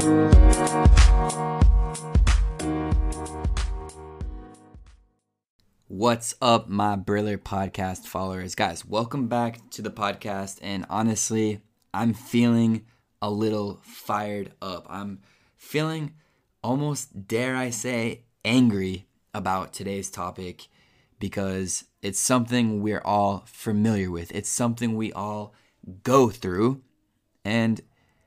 What's up, my Briller podcast followers? Guys, welcome back to the podcast. And honestly, I'm feeling a little fired up. I'm feeling almost, dare I say, angry about today's topic because it's something we're all familiar with. It's something we all go through. And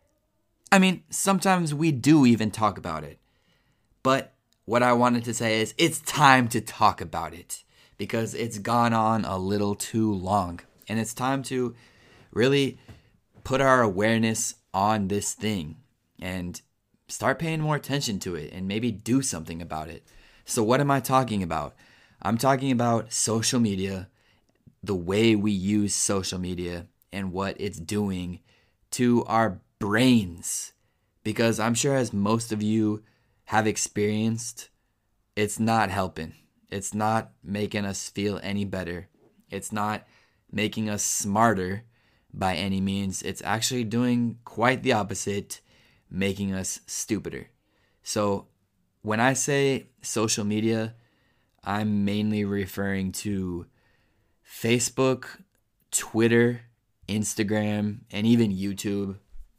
I mean, sometimes we do even talk about it. But what I wanted to say is it's time to talk about it because it's gone on a little too long. And it's time to really put our awareness on this thing and start paying more attention to it and maybe do something about it. So what am I talking about? I'm talking about social media, the way we use social media and what it's doing to our brains. Because I'm sure as most of you have experienced, it's not helping. It's not making us feel any better. It's not making us smarter by any means. It's actually doing quite the opposite, making us stupider. So when I say social media, I'm mainly referring to Facebook, Twitter, Instagram, and even YouTube.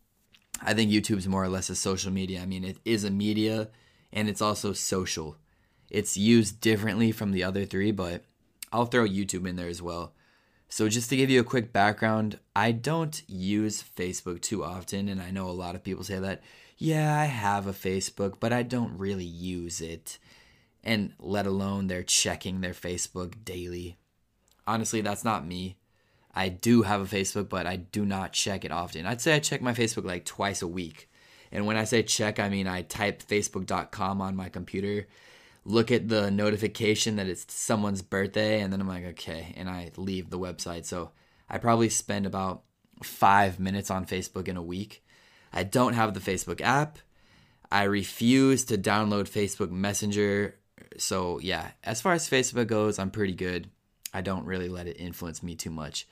I think YouTube's more or less a social media. I mean, it is a media and it's also social. It's used differently from the other three, but I'll throw YouTube in there as well. So just to give you a quick background, I don't use Facebook too often, and I know a lot of people say that, yeah, I have a Facebook, but I don't really use it, and let alone they're checking their Facebook daily. Honestly, that's not me. I do have a Facebook, but I do not check it often. I'd say I check my Facebook like twice a week. And when I say check, I mean I type facebook.com on my computer, look at the notification that it's someone's birthday, and then I'm like, okay, and I leave the website. So I probably spend about 5 minutes on Facebook in a week. I don't have the Facebook app. I refuse to download Facebook Messenger. So yeah, as far as Facebook goes, I'm pretty good. I don't really let it influence me too much.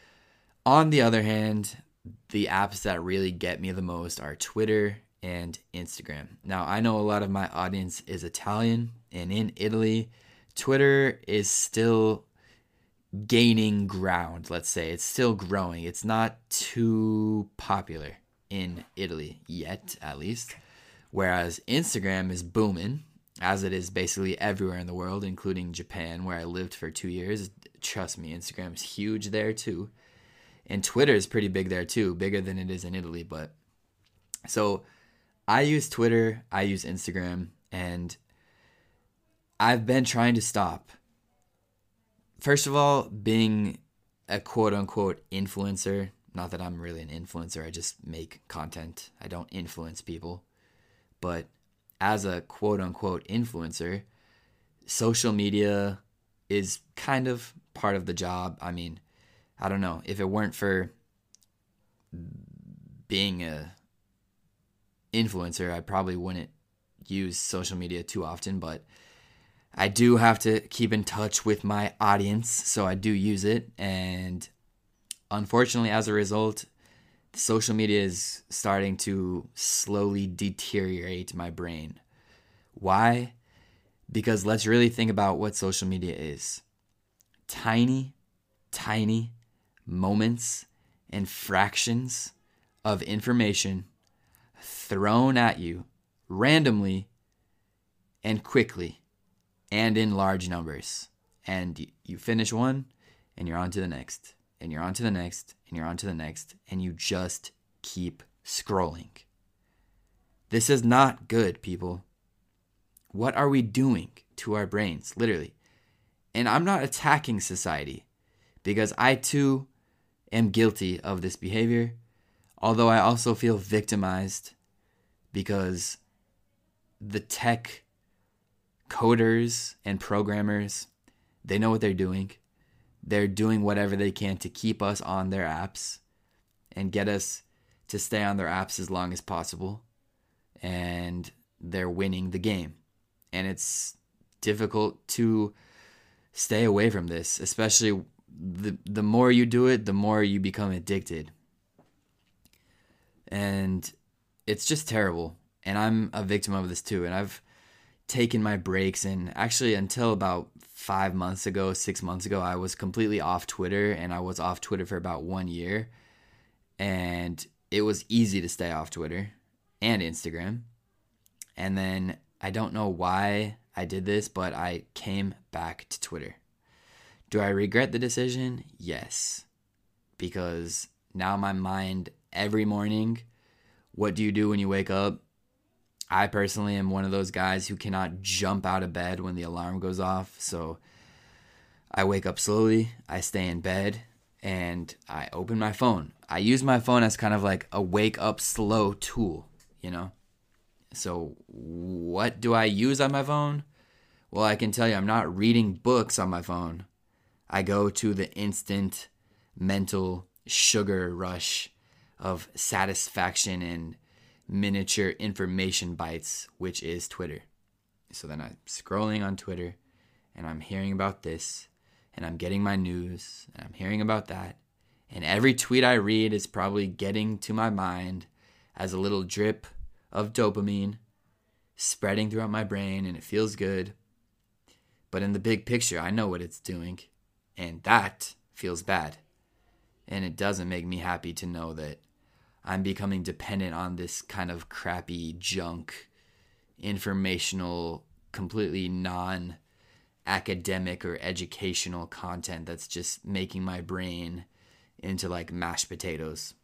On the other hand, the apps that really get me the most are Twitter and Instagram. Now, I know a lot of my audience is Italian, and in Italy, Twitter is still gaining ground, let's say. It's still growing. It's not too popular in Italy yet, at least. Whereas Instagram is booming, as it is basically everywhere in the world, including Japan, where I lived for 2 years. Trust me, Instagram is huge there too. And Twitter is pretty big there too, bigger than it is in Italy. But so I use Twitter, I use Instagram, and I've been trying to stop. First of all, being a quote-unquote influencer, not that I'm really an influencer, I just make content. I don't influence people. But as a quote-unquote influencer, social media is kind of part of the job. I mean, I don't know. If it weren't for being a influencer, I probably wouldn't use social media too often, but I do have to keep in touch with my audience, so I do use it. And unfortunately, as a result, social media is starting to slowly deteriorate my brain. Why? Because let's really think about what social media is. Tiny moments and fractions of information thrown at you randomly and quickly and in large numbers. And you finish one and you're on to the next, and you're on to the next, and you're on to the next, and you just keep scrolling. This is not good, people. What are we doing to our brains, literally? And I'm not attacking society, because I too am guilty of this behavior, although I also feel victimized because the tech coders and programmers, they know what they're doing. They're doing whatever they can to keep us on their apps and get us to stay on their apps as long as possible. And they're winning the game. And it's difficult to stay away from this, especially the more you do it, the more you become addicted. And it's just terrible. And I'm a victim of this too. And I've taken my breaks, and actually until about 6 months ago, I was completely off Twitter, and I was off Twitter for about 1 year. And it was easy to stay off Twitter and Instagram. And then I don't know why I did this, but I came back to Twitter. Do I regret the decision? Yes. Because now my mind, every morning, what do you do when you wake up? I personally am one of those guys who cannot jump out of bed when the alarm goes off. So I wake up slowly, I stay in bed, and I open my phone. I use my phone as kind of like a wake up slow tool, you know? So what do I use on my phone? Well, I can tell you I'm not reading books on my phone. I go to the instant mental sugar rush of satisfaction and miniature information bites, which is Twitter. So then I'm scrolling on Twitter, and I'm hearing about this, and I'm getting my news, and I'm hearing about that. And every tweet I read is probably getting to my mind as a little drip of dopamine spreading throughout my brain, and it feels good. But in the big picture, I know what it's doing, and that feels bad. And it doesn't make me happy to know that I'm becoming dependent on this kind of crappy junk, informational, completely non-academic or educational content that's just making my brain into like mashed potatoes.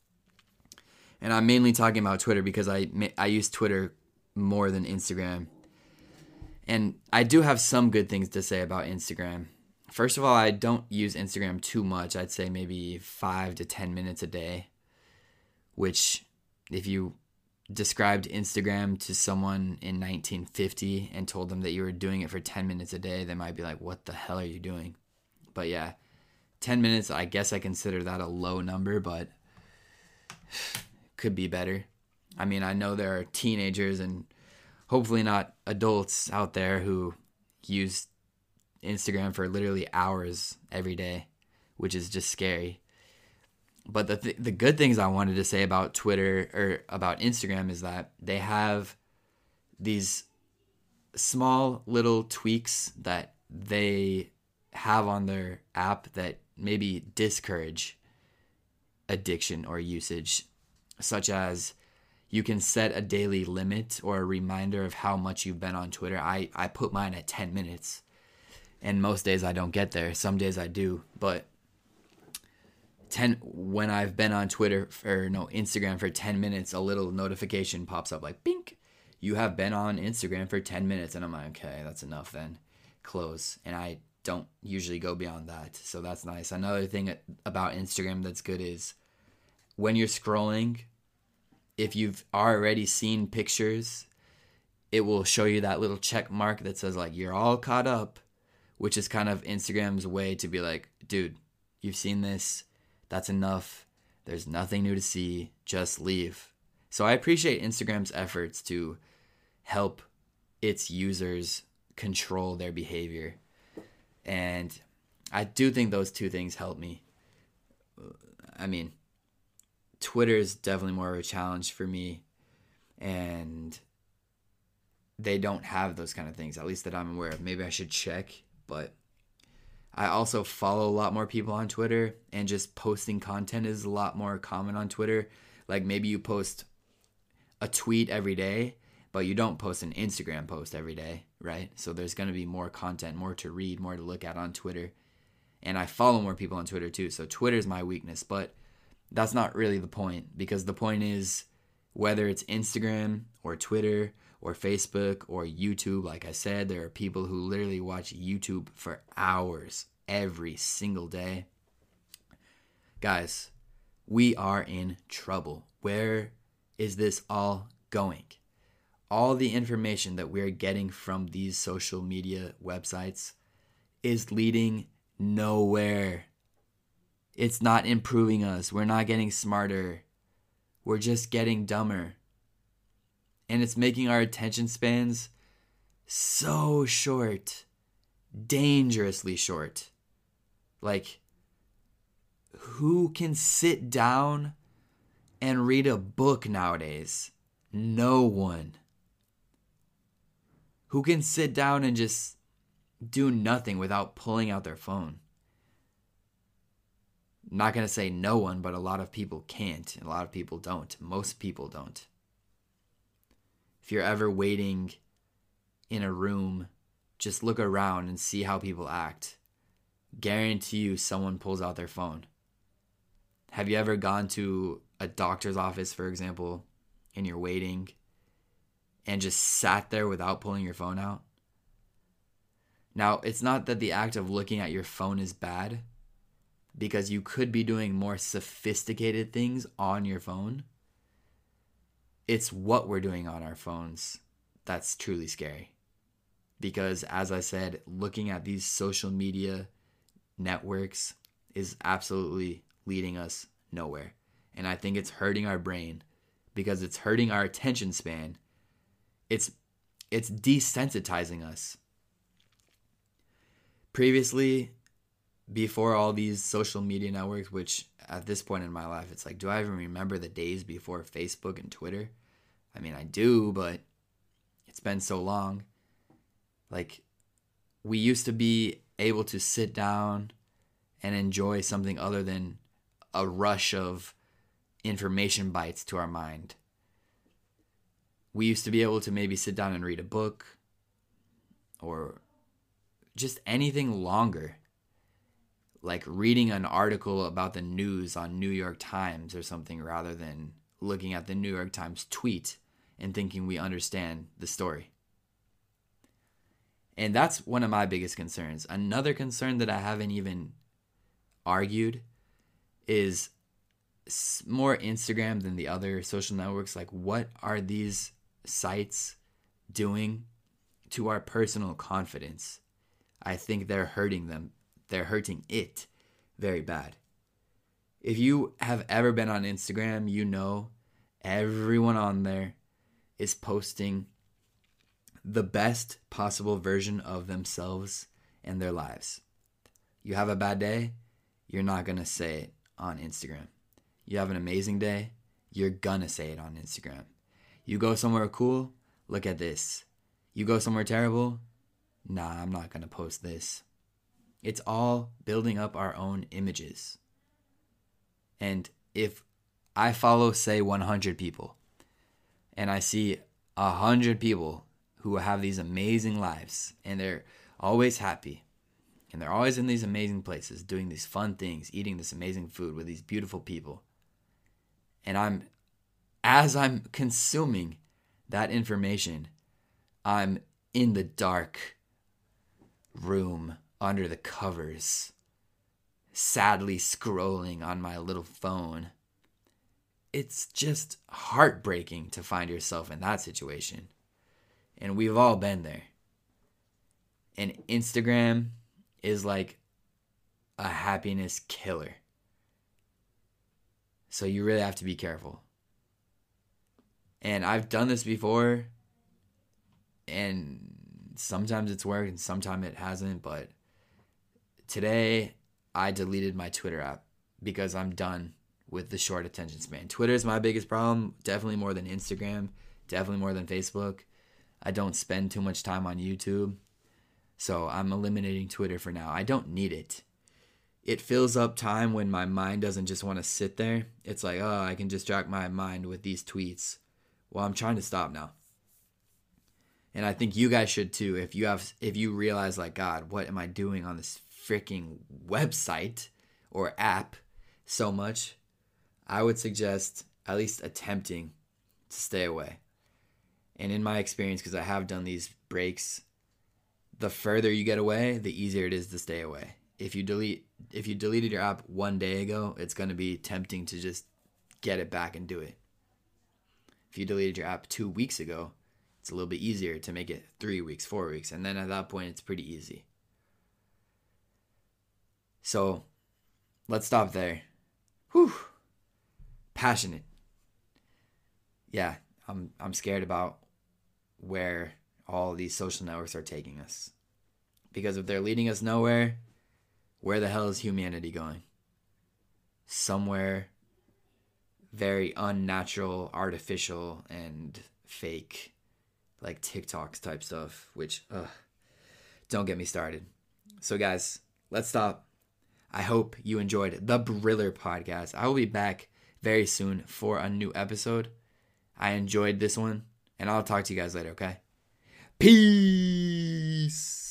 And I'm mainly talking about Twitter because I use Twitter more than Instagram. And I do have some good things to say about Instagram. First of all, I don't use Instagram too much. I'd say maybe 5 to 10 minutes a day. Which, if you described Instagram to someone in 1950 and told them that you were doing it for 10 minutes a day, they might be like, what the hell are you doing? But yeah, 10 minutes, I guess I consider that a low number, but could be better. I mean, I know there are teenagers and hopefully not adults out there who use Instagram for literally hours every day, which is just scary. But the good things I wanted to say about Twitter or about Instagram is that they have these small little tweaks that they have on their app that maybe discourage addiction or usage, such as you can set a daily limit or a reminder of how much you've been on Twitter. I put mine at 10 minutes, and most days I don't get there. Some days I do, but when I've been on Instagram for 10 minutes, a little notification pops up like, bink, you have been on Instagram for 10 minutes. And I'm like, okay, that's enough then. Close. And I don't usually go beyond that. So that's nice. Another thing about Instagram that's good is when you're scrolling, if you've already seen pictures, it will show you that little check mark that says like, you're all caught up, which is kind of Instagram's way to be like, dude, you've seen this. That's enough. There's nothing new to see. Just leave. So I appreciate Instagram's efforts to help its users control their behavior. And I do think those two things help me. I mean, Twitter is definitely more of a challenge for me. And they don't have those kind of things, at least that I'm aware of. Maybe I should check, but I also follow a lot more people on Twitter, and just posting content is a lot more common on Twitter. Like maybe you post a tweet every day, but you don't post an Instagram post every day, right? So there's going to be more content, more to read, more to look at on Twitter. And I follow more people on Twitter too. So Twitter is my weakness, but that's not really the point, because the point is whether it's Instagram or Twitter or Facebook or YouTube, like I said, there are people who literally watch YouTube for hours every single day. Guys, we are in trouble. Where is this all going? All the information that we're getting from these social media websites is leading nowhere. It's not improving us. We're not getting smarter. We're just getting dumber. And it's making our attention spans so short, dangerously short. Like, who can sit down and read a book nowadays? No one. Who can sit down and just do nothing without pulling out their phone? I'm not going to say no one, but a lot of people can't. And a lot of people don't. Most people don't. If you're ever waiting in a room, just look around and see how people act. Guarantee you someone pulls out their phone. Have you ever gone to a doctor's office, for example, and you're waiting and just sat there without pulling your phone out? Now, it's not that the act of looking at your phone is bad, because you could be doing more sophisticated things on your phone. It's what we're doing on our phones that's truly scary. Because, as I said, looking at these social media networks is absolutely leading us nowhere. And I think it's hurting our brain because it's hurting our attention span. It's desensitizing us. Previously, before all these social media networks, which at this point in my life, it's like, do I even remember the days before Facebook and Twitter? I mean, I do, but it's been so long. Like, we used to be able to sit down and enjoy something other than a rush of information bites to our mind. We used to be able to maybe sit down and read a book or just anything longer, like reading an article about the news on New York Times or something, rather than looking at the New York Times tweet and thinking we understand the story. And that's one of my biggest concerns. Another concern that I haven't even argued is more Instagram than the other social networks. Like, what are these sites doing to our personal confidence? I think they're hurting them. They're hurting it very bad. If you have ever been on Instagram, you know everyone on there is posting the best possible version of themselves and their lives. You have a bad day, you're not going to say it on Instagram. You have an amazing day, you're going to say it on Instagram. You go somewhere cool, look at this. You go somewhere terrible, nah, I'm not going to post this. It's all building up our own images. And if I follow, say, 100 people, and I see 100 people who have these amazing lives, and they're always happy, and they're always in these amazing places, doing these fun things, eating this amazing food with these beautiful people, and as I'm consuming that information, I'm in the dark room under the covers, sadly scrolling on my little phone. It's just heartbreaking to find yourself in that situation. And we've all been there. And Instagram is like a happiness killer. So you really have to be careful. And I've done this before, and sometimes it's worked and sometimes it hasn't, but today I deleted my Twitter app because I'm done with the short attention span. Twitter is my biggest problem, definitely more than Instagram, definitely more than Facebook. I don't spend too much time on YouTube, so I'm eliminating Twitter for now. I don't need it. It fills up time when my mind doesn't just want to sit there. It's like, oh, I can distract my mind with these tweets. Well, I'm trying to stop now. And I think you guys should too. If you realize, like, God, what am I doing on this freaking website or app so much? I would suggest at least attempting to stay away. And in my experience, because I have done these breaks, the further you get away, the easier it is to stay away. If you deleted your app one day ago, it's going to be tempting to just get it back and do it. If you deleted your app 2 weeks ago, it's a little bit easier to make it 3 weeks, 4 weeks. And then at that point, it's pretty easy. So let's stop there. Whew. Passionate. Yeah, I'm scared about where all these social networks are taking us. Because if they're leading us nowhere, where the hell is humanity going? Somewhere very unnatural, artificial, and fake, like TikToks type stuff, which, don't get me started. So guys, let's stop. I hope you enjoyed the Briller podcast. I will be back very soon for a new episode. I enjoyed this one, and I'll talk to you guys later, okay? Peace.